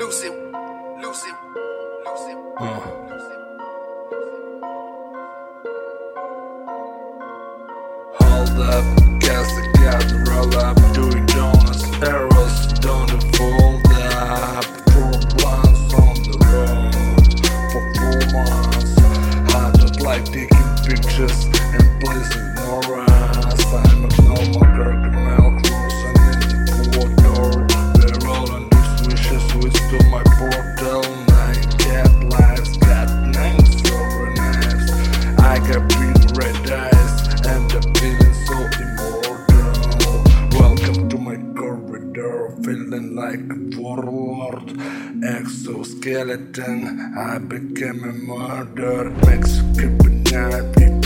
Hold up, gas the gas, roll up, doing donuts, arrows, don't fold up. 4 blunts on the road for 4 months. I don't like taking pictures and placing no rest. I'm a normal Kirkland cruising in the 4-door. They're rolling these wishes to my portal. 9 cat lives, got 9 silver knives. I got green red eyes and the feeling so immortal. Welcome to my corridor, feeling like a warlord. Exoskeleton, I became a murderer. Mexican knife.